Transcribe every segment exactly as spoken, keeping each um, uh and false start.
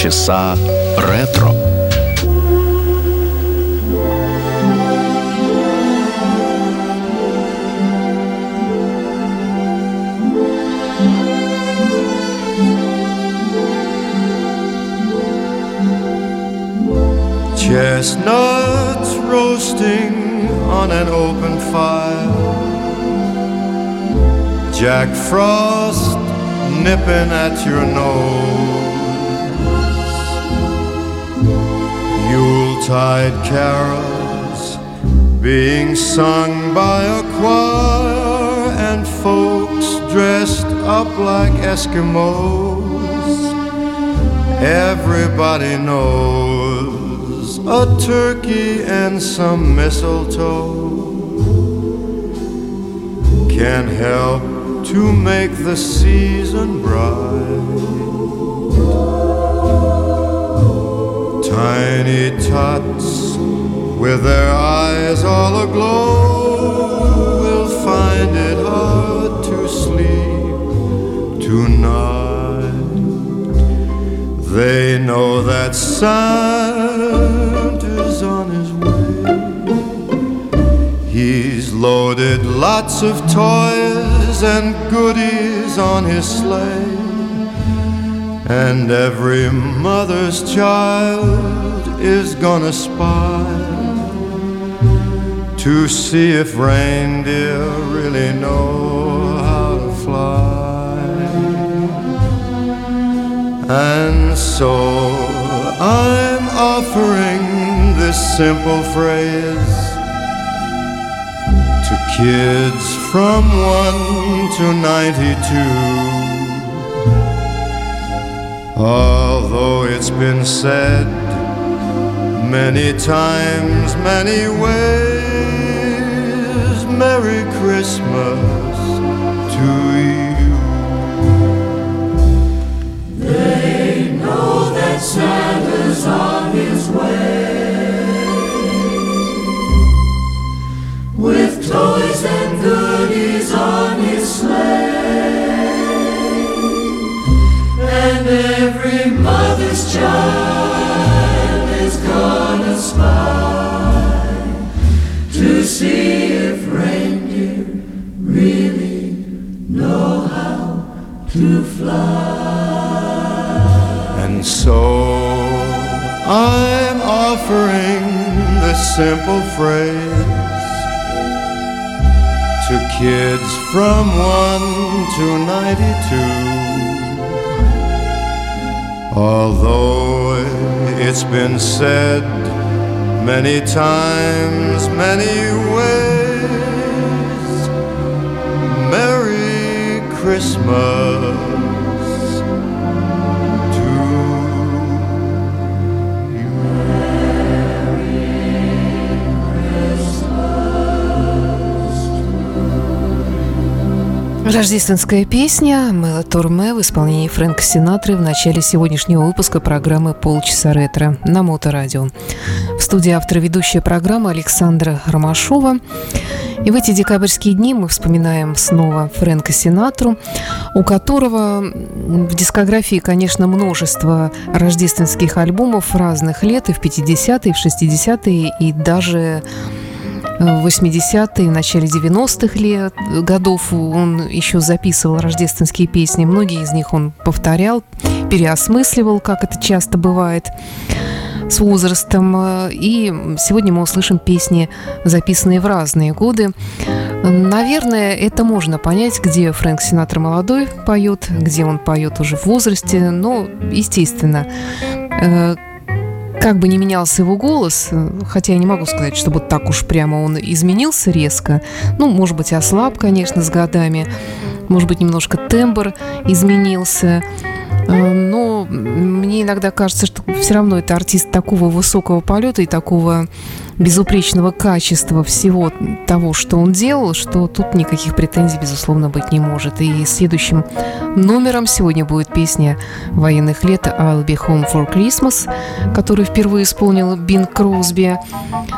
Полчаса ретро. Chestnuts roasting on an open fire, Jack Frost nipping at your nose, Yuletide carols being sung by a choir, and folks dressed up like Eskimos. Everybody knows a turkey and some mistletoe can help to make the season bright. Tiny tots with their eyes all aglow will find it hard to sleep tonight. They know that Santa's on his way. He's loaded lots of toys and goodies on his sleigh, and every mother's child is gonna spy to see if reindeer really know how to fly. And so I'm offering this simple phrase to kids from one to ninety-two. Although it's been said many times, many ways, Merry Christmas to you. They know that Santa's on his way, with toys and goodies on his sleigh, and every mother's child is gonna spy to see if reindeer really know how to fly. And so I'm offering this simple phrase to kids from one to ninety-two. Although it's been said many times, many ways, Merry Christmas. Рождественская песня «Мело Турме» в исполнении Фрэнка Синатры в начале сегодняшнего выпуска программы «Полчаса ретро» на Моторадио. В студии автор и ведущая программы Александра Ромашова. И в эти декабрьские дни мы вспоминаем снова Фрэнка Синатру, у которого в дискографии, конечно, множество рождественских альбомов разных лет, и в пятидесятые, и в шестидесятые, и даже в восьмидесятые, в начале девяностых лет, годов он еще записывал рождественские песни. Многие из них он повторял, переосмысливал, как это часто бывает с возрастом. И сегодня мы услышим песни, записанные в разные годы. Наверное, это можно понять, где Фрэнк Синатра молодой поет, где он поет уже в возрасте. Но, естественно, как бы ни менялся его голос, хотя я не могу сказать, чтобы так уж прямо он изменился резко. Ну, может быть, ослаб, конечно, с годами. Может быть, немножко тембр изменился. Но мне иногда кажется, что все равно это артист такого высокого полета и такого безупречного качества всего того, что он делал, что тут никаких претензий, безусловно, быть не может. И следующим номером сегодня будет песня военных лет «I'll be home for Christmas», которую впервые исполнил Бинг Кросби.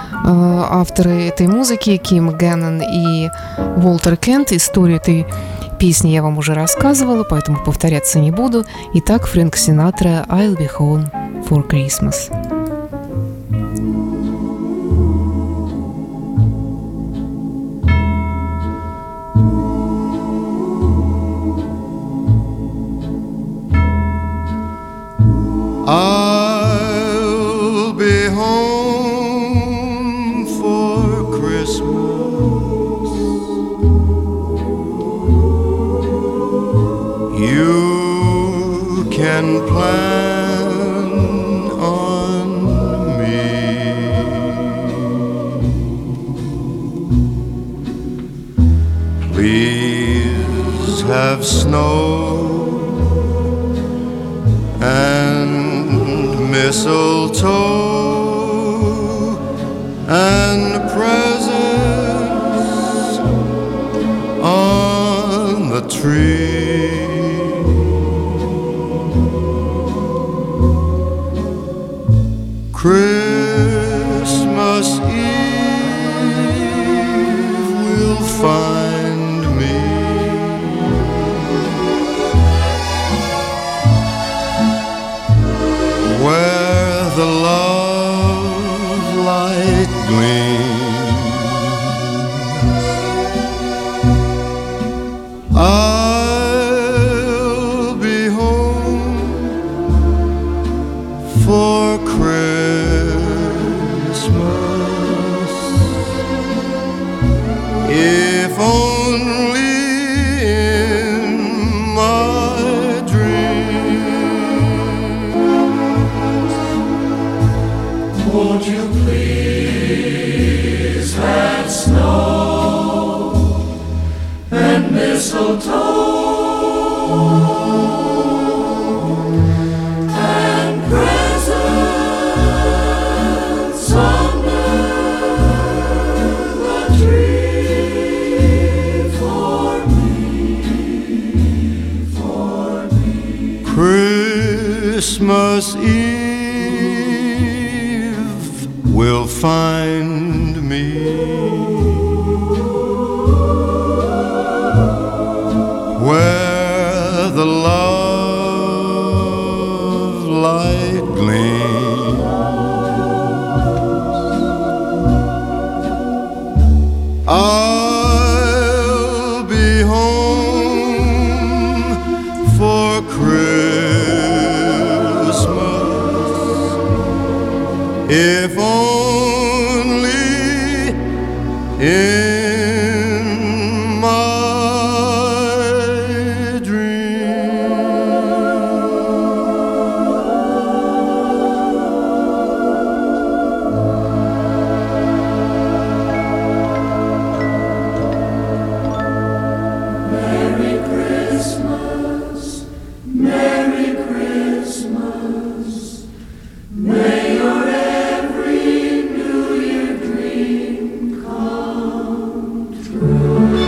Авторы этой музыки Ким Геннон и Уолтер Кент. Историю этой Песни я вам уже рассказывала, поэтому повторяться не буду. Итак, Фрэнк Синатра «I'll be home for Christmas». I'll be home for Christmas. You can plan on me. Please have snow and mistletoe and presents on the tree. Christmas Eve will find me where the love light gleams. I'll be home for Christmas, if only in my dreams. Won't you please have snow and mistletoe and presents under the tree for me, for me. Christmas Eve will find me where the love light gleams. I'll be home for Christmas, if only in my dreams. Merry Christmas, Merry Christmas. May your every New Year dream come true.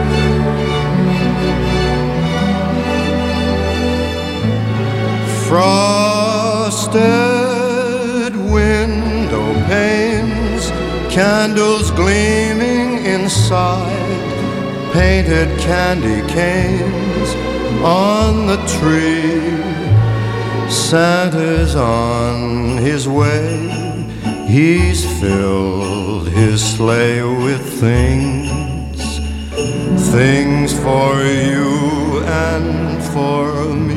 Frosted window panes, candles gleaming inside, painted candy canes on the tree. Santa's on his way, he's filled his sleigh with things, things for you and for me.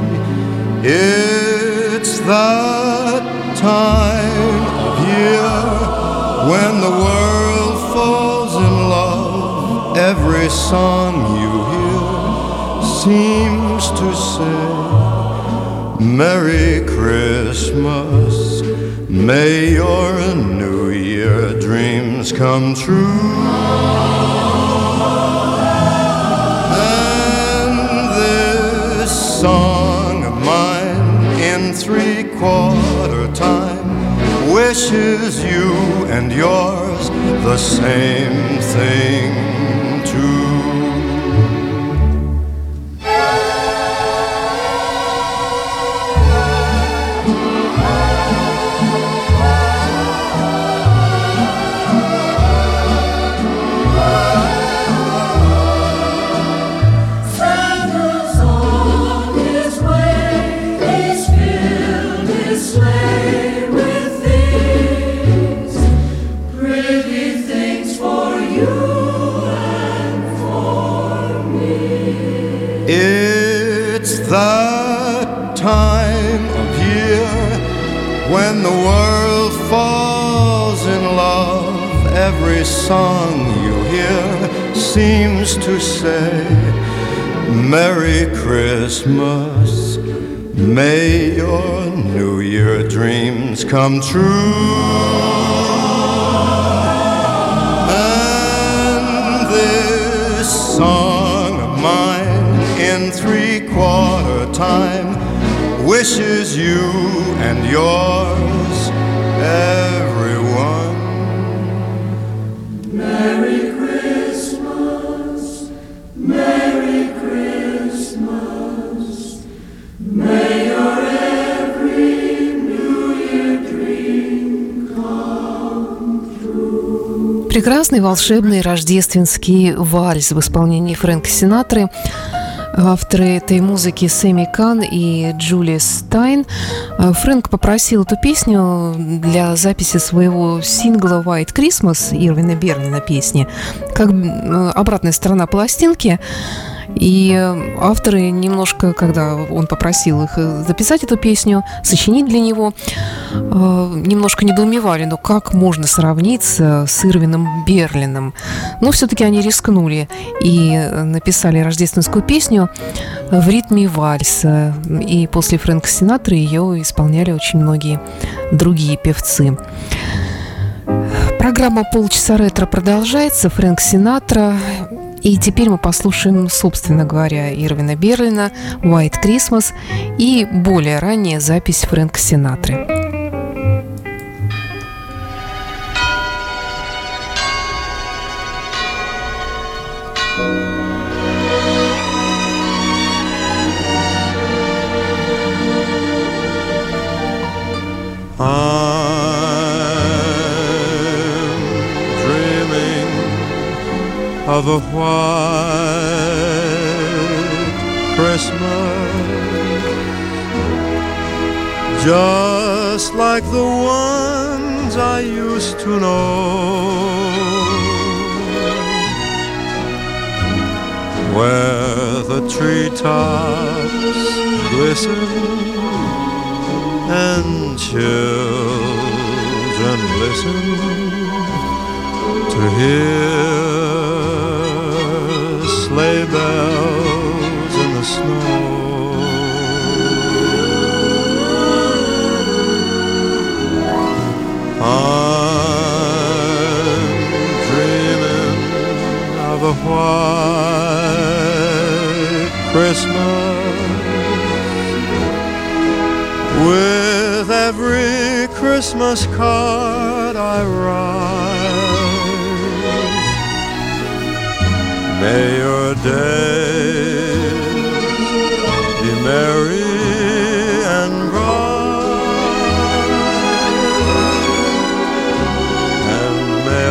It's that time of year when the world falls in love. Every song you hear seems to say, Merry Christmas, may your New Year dreams come true. And this song of mine in three-quarter time wishes you and yours the same thing too. It's that time of year when the world falls in love. Every song you hear seems to say, Merry Christmas, may your New Year dreams come true. And this song of mine in three-quarter time wishes you and yours, everyone, Merry Christmas, Merry Christmas, may your every New Year dream come true. Прекрасный волшебный рождественский вальс в исполнении Фрэнка Синатры. Авторы этой музыки Сэмми Кан и Джулия Стайн. Фрэнк попросил эту песню для записи своего сингла «White Christmas» Ирвина Берлина песни, как обратная сторона пластинки. И авторы немножко, когда он попросил их записать эту песню, сочинить для него, немножко недоумевали, ну как можно сравниться с Ирвином Берлином. Но все-таки они рискнули и написали рождественскую песню в ритме вальса. И после Фрэнка Синатры ее исполняли очень многие другие певцы. Программа «Полчаса ретро» продолжается. Фрэнк Синатра. И теперь мы послушаем, собственно говоря, Ирвина Берлина «White Christmas» и более ранняя запись Фрэнка Синатры. Of a white Christmas, just like the ones I used to know, where the treetops glisten and children listen to hear sleigh bells in the snow. I'm dreaming of a white Christmas, with every Christmas card I write. May your days be merry and bright, and may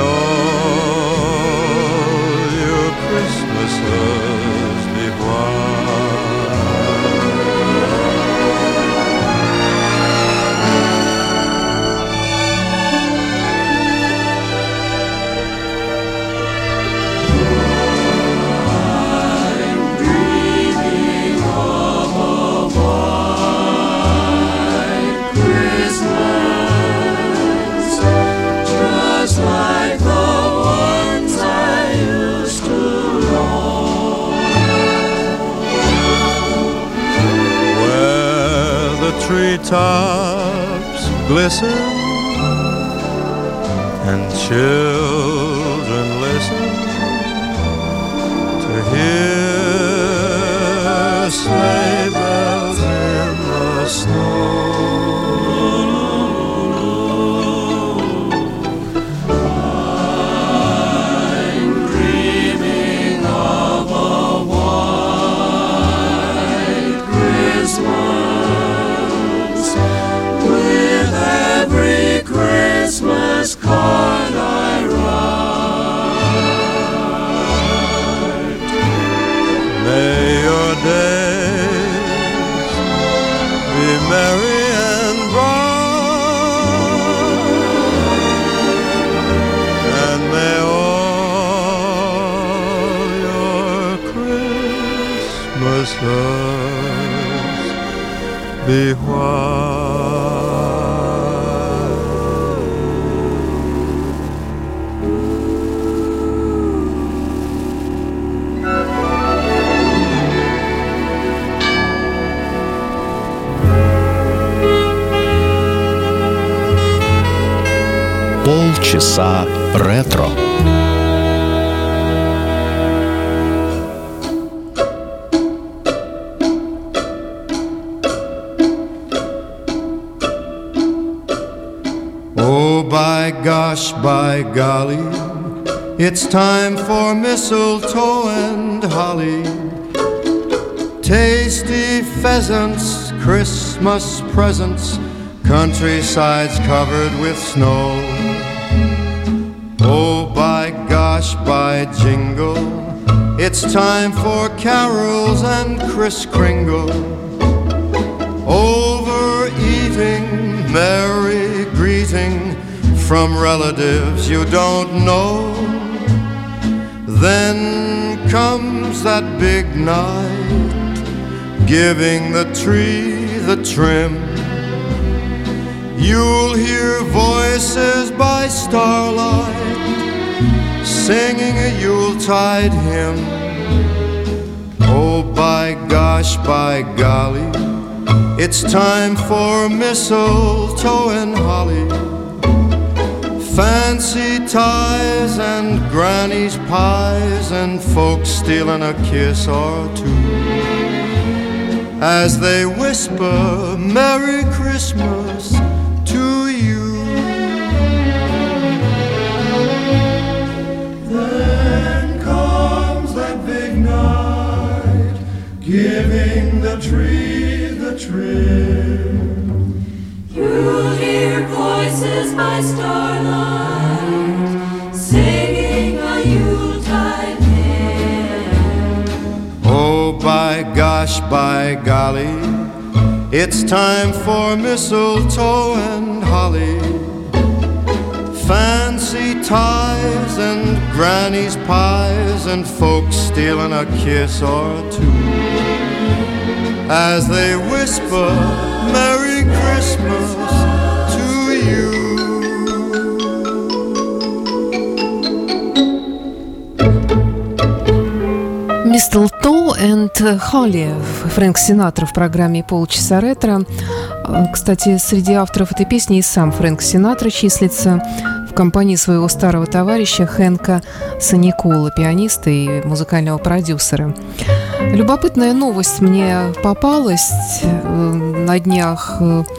all your Christmases be treetops glisten and children listen to hear sleigh bells in the snow. Christmas card I write. May your days be merry and Christmases be white. Полчаса ретро. Oh, by gosh, by golly, it's time for mistletoe and holly. Tasty pheasants, Christmas presents, countrysides covered with snow. Oh, by gosh, by jingle, it's time for carols and Kris Kringle. Overeating, merry greeting from relatives you don't know. Then comes that big night, giving the tree the trim. You'll hear voices by starlight, singing a Yuletide hymn. Oh, by gosh, by golly, it's time for mistletoe and holly. Fancy ties and granny's pies and folks stealing a kiss or two as they whisper Merry Christmas to you. Then comes that big night, giving the tree the trim. You'll hear voices by starlight, singing a Yuletide hymn. Oh, by gosh, by golly, it's time for mistletoe and holly. Fancy ties and granny's pies and folks stealing a kiss or two as they whisper Merry Christmas to you. Mistletoe and Holly, Фрэнк Синатра в программе «Полчаса ретро». Кстати, среди авторов этой песни и сам Фрэнк Синатра числится в компании своего старого товарища Хэнка Саникола, пианиста и музыкального продюсера. Любопытная новость мне попалась. На днях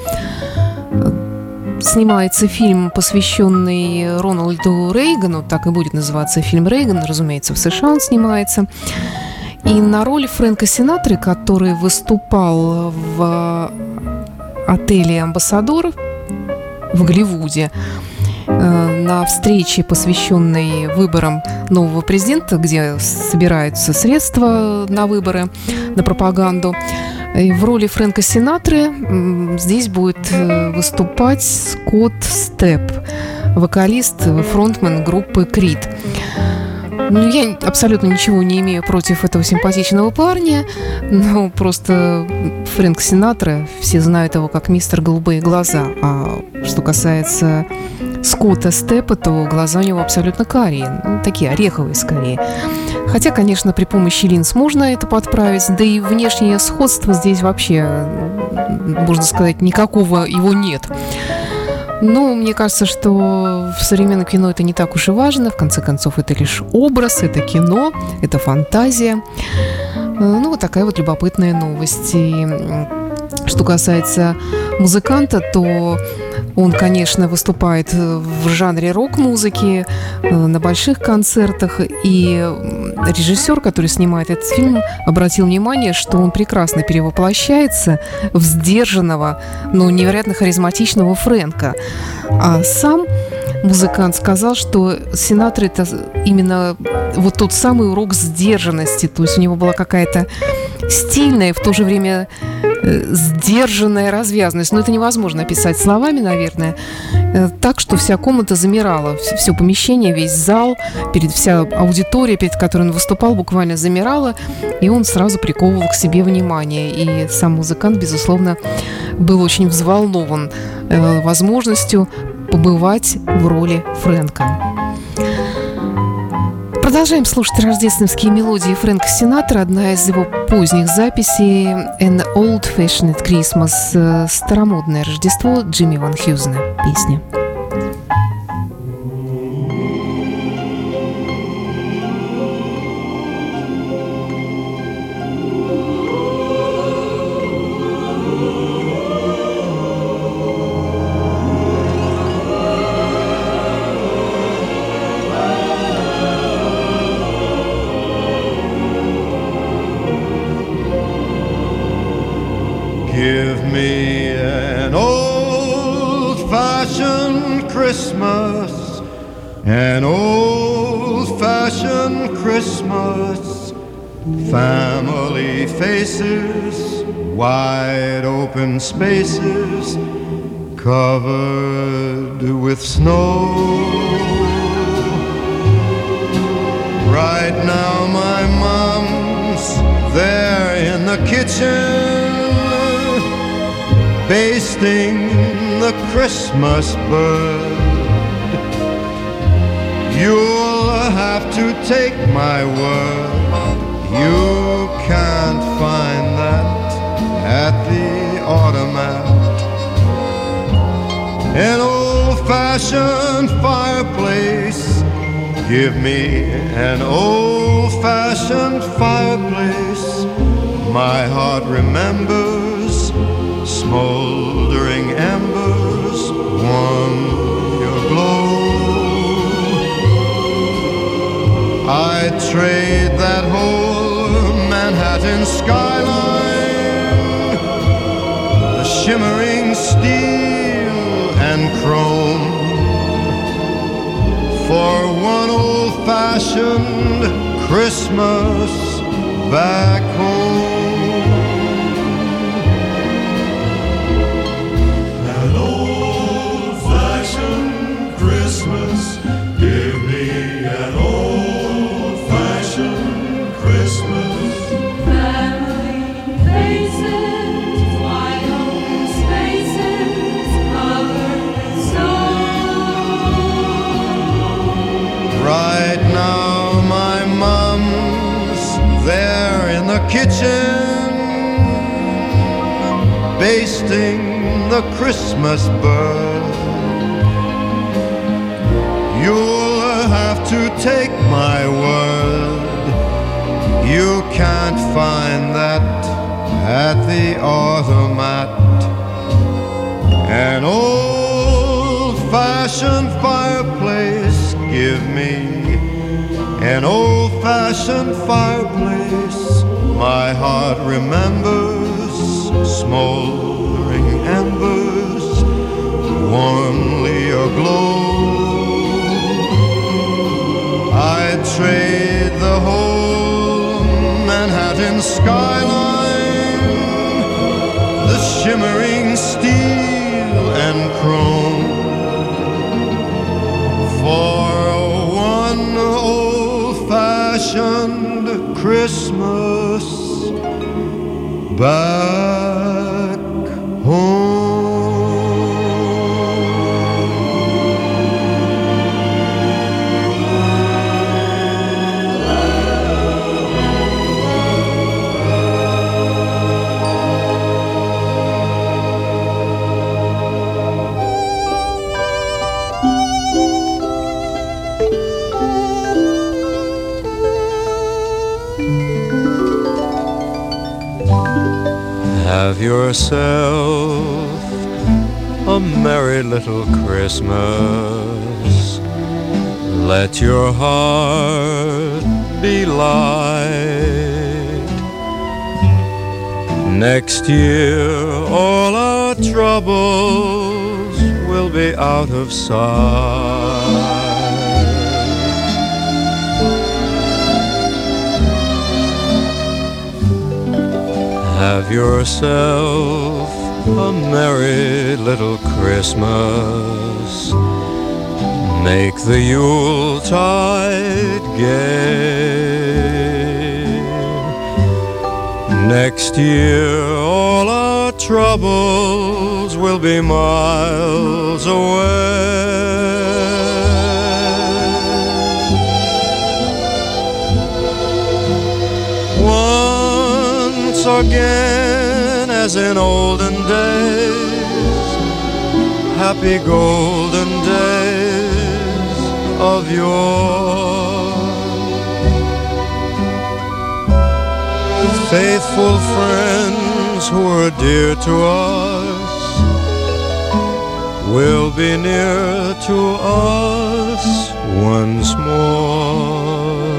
снимается фильм, посвященный Рональду Рейгану, так и будет называться фильм «Рейган», разумеется, в США он снимается. И на роли Фрэнка Синатры, который выступал в отеле «Амбассадор» в Голливуде, на встрече, посвященной выборам нового президента, где собираются средства на выборы, на пропаганду. И в роли Фрэнка Синатры здесь будет выступать Скотт Степп, вокалист, фронтмен группы Крид. Ну, я абсолютно ничего не имею против этого симпатичного парня, но просто Фрэнк Синатра, все знают его как мистер Голубые глаза. А что касается Скотта Степпа, то глаза у него абсолютно карие, ну, такие ореховые скорее. Хотя, конечно, при помощи линз можно это подправить, да и внешнее сходство здесь вообще, можно сказать, никакого его нет. Но мне кажется, что в современном кино это не так уж и важно. В конце концов, это лишь образ, это кино, это фантазия. Ну, вот такая вот любопытная новость. И что касается музыканта, то он, конечно, выступает в жанре рок-музыки на больших концертах. И режиссер, который снимает этот фильм, обратил внимание, что он прекрасно перевоплощается в сдержанного, но невероятно харизматичного Фрэнка. А сам музыкант сказал, что Синатра — это именно вот тот самый урок сдержанности. То есть у него была какая-то стильная, в то же время сдержанная развязность. Но это невозможно описать словами, наверное. Так, что вся комната замирала. Все помещение, весь зал, перед, вся аудитория, перед которой он выступал, буквально замирала. И он сразу приковывал к себе внимание. И сам музыкант, безусловно, был очень взволнован возможностью побывать в роли Фрэнка. Продолжаем слушать рождественские мелодии Фрэнка Синатра. Одна из его поздних записей «An Old-Fashioned Christmas» – «Старомодное Рождество» Джимми Ван Хьюзена песня. Give me an old-fashioned Christmas, an old-fashioned Christmas, family faces, wide open spaces, covered with snow. Right now my mom's there in the kitchen, basting the Christmas bird. You'll have to take my word, you can't find that at the automat. An old-fashioned fireplace, give me an old-fashioned fireplace. My heart remembers smoldering embers, warm your glow. I'd trade that whole Manhattan skyline, the shimmering steel and chrome, for one old-fashioned Christmas back home. Christmas, give me an old-fashioned Christmas. Family faces, wide open spaces, covered with snow. Right now my mom's there in the kitchen, basting the Christmas bird. You'll have to take my word, you can't find that at the automat. An old-fashioned fireplace, give me an old-fashioned fireplace. My heart remembers smoldering embers, warmly aglow. I'd trade the whole Manhattan skyline, the shimmering steel and chrome, for one old-fashioned Christmas back home. Have yourself a merry little Christmas. Let your heart be light. Next year all our troubles will be out of sight. have yourself a merry little Christmas. Make the Yuletide gay. Next year all our troubles will be miles away. Once again, as in olden days, happy golden days of yore. Faithful friends who are dear to us will be near to us once more.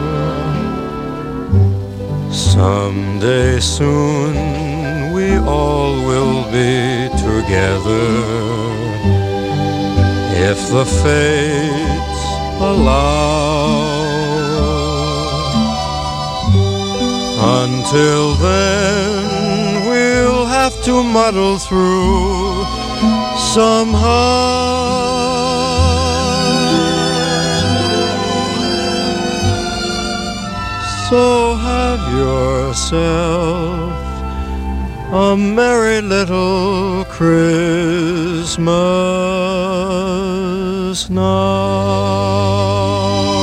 Someday soon we all will be together, if the fates allow. Until then we'll have to muddle through somehow. So have yourself a merry little Christmas now.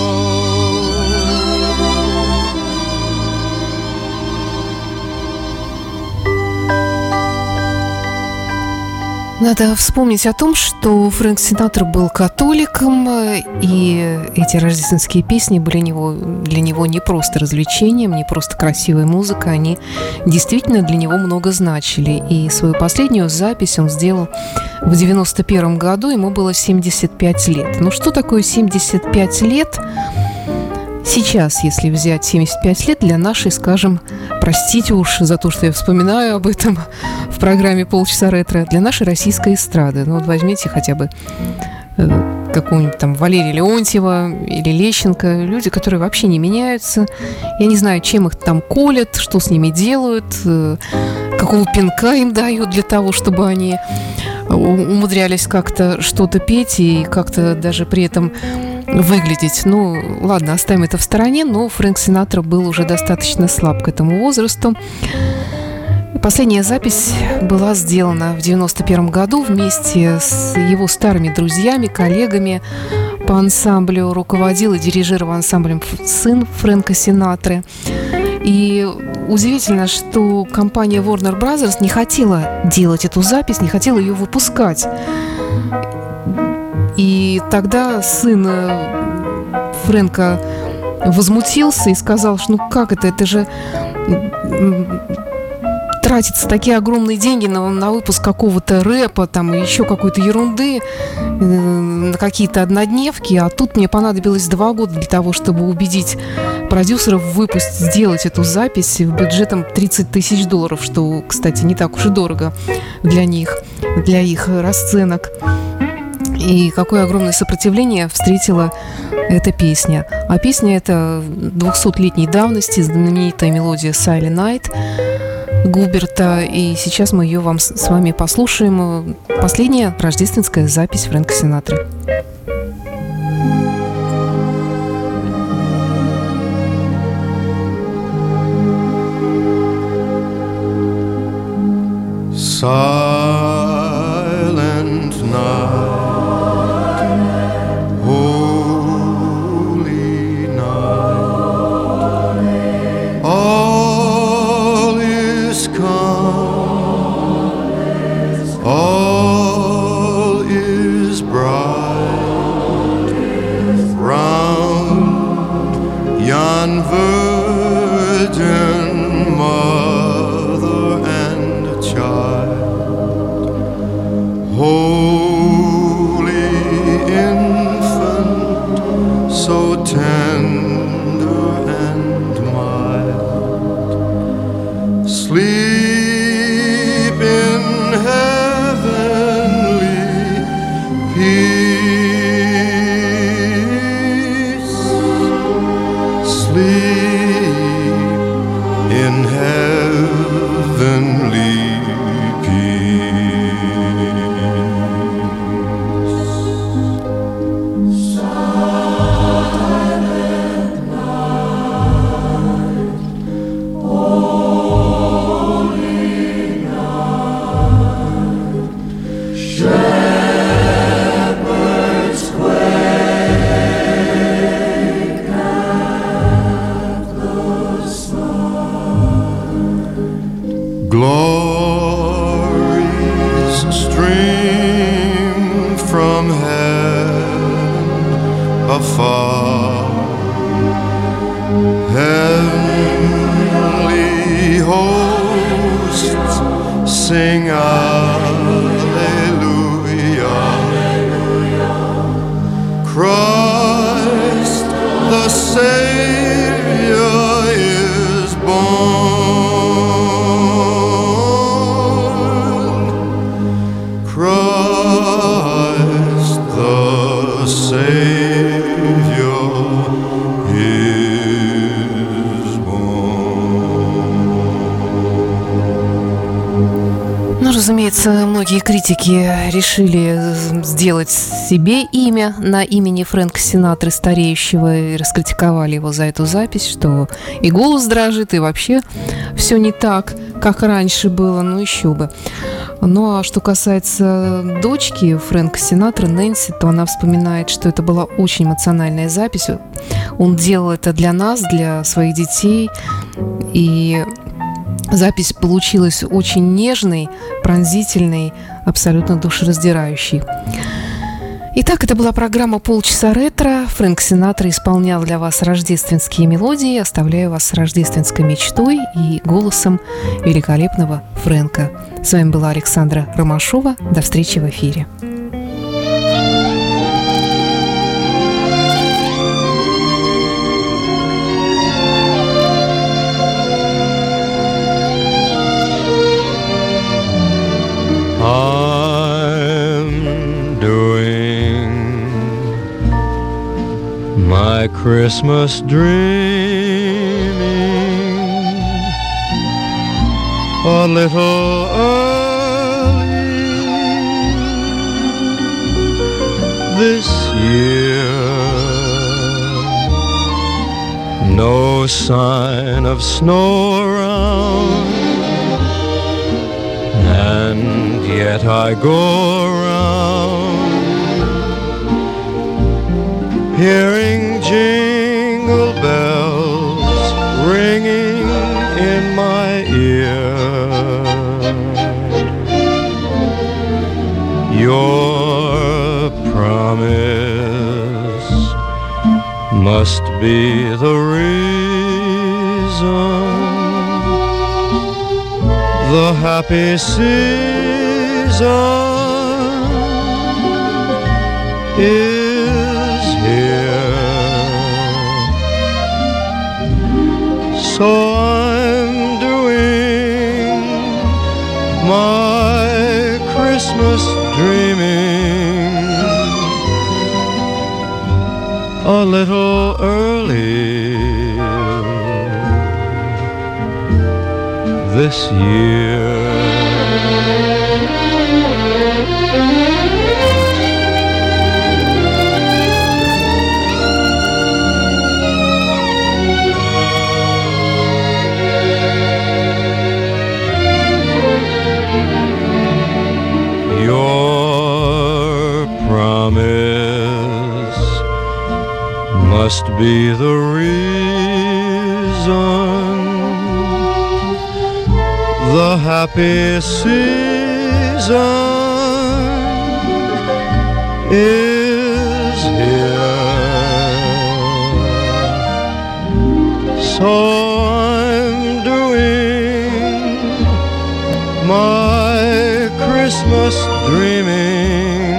Надо вспомнить о том, что Фрэнк Синатра был католиком, и эти рождественские песни были него, для него не просто развлечением, не просто красивая музыка, они действительно для него много значили. И свою последнюю запись он сделал в девяносто первом году, ему было семьдесят пять лет. Ну что такое семьдесят пять лет? Сейчас, если взять семьдесят пять лет для нашей, скажем, простите уж за то, что я вспоминаю об этом в программе «Полчаса ретро», для нашей российской эстрады. Ну вот возьмите хотя бы э, какого-нибудь там Валерия Леонтьева или Лещенко, люди, которые вообще не меняются. Я не знаю, чем их там колят, что с ними делают, э, какого пинка им дают для того, чтобы они умудрялись как-то что-то петь и как-то даже при этом выглядеть. Ну, ладно, оставим это в стороне, но Фрэнк Синатра был уже достаточно слаб к этому возрасту. Последняя запись была сделана в девяносто первом году вместе с его старыми друзьями, коллегами по ансамблю. Руководил и дирижировал ансамблем сын Фрэнка Синатры. И удивительно, что компания Warner Brothers не хотела делать эту запись, не хотела ее выпускать. И тогда сын Фрэнка возмутился и сказал, что ну как это, это же тратятся такие огромные деньги на, на выпуск какого-то рэпа, там, еще какой-то ерунды, на какие-то однодневки, а тут мне понадобилось два года для того, чтобы убедить продюсеров выпустить, сделать эту запись бюджетом тридцать тысяч долларов, что, кстати, не так уж и дорого для них, для их расценок. И какое огромное сопротивление встретила эта песня. А песня эта двухсотлетней давности, знаменитая мелодия «Silent Night» Губерта. И сейчас мы ее вам с вами послушаем. Последняя рождественская запись Фрэнка Синатры. Silent night, holy night, all is calm, all is bright, round yon virgin mother and child. Glories stream from heaven afar. Heavenly hosts sing Alleluia. Christ the Savior is born. Christ the Savior is born. Ну, разумеется, многие критики решили сделать себе имя на имени Фрэнка Синатры стареющего и раскритиковали его за эту запись, что и голос дрожит, и вообще все не так, как раньше было, ну еще бы. Ну а что касается дочки Фрэнка Синатры, Нэнси, то она вспоминает, что это была очень эмоциональная запись. Он делал это для нас, для своих детей, и запись получилась очень нежной, пронзительной, абсолютно душераздирающей. Итак, это была программа «Полчаса ретро». Фрэнк Синатра исполнял для вас рождественские мелодии. Оставляю вас с рождественской мечтой и голосом великолепного Фрэнка. С вами была Александра Ромашова. До встречи в эфире. I'm doing my Christmas dreaming a little early this year. No sign of snow around, and yet I go around hearing jingle bells ringing in my ear. Your promise must be the reason the happy season is here. So I'm doing my Christmas dreaming a little early this year. Your promise must be the reason the happy season is here. So I'm doing my Christmas dreaming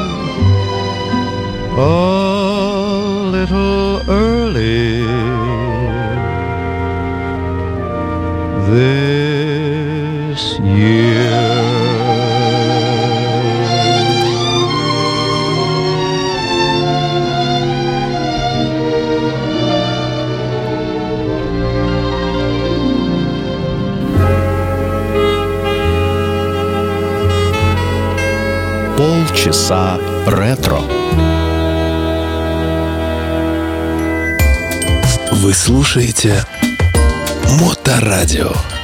a little early this year. Полчаса ретро. Вы слушаете Моторадио.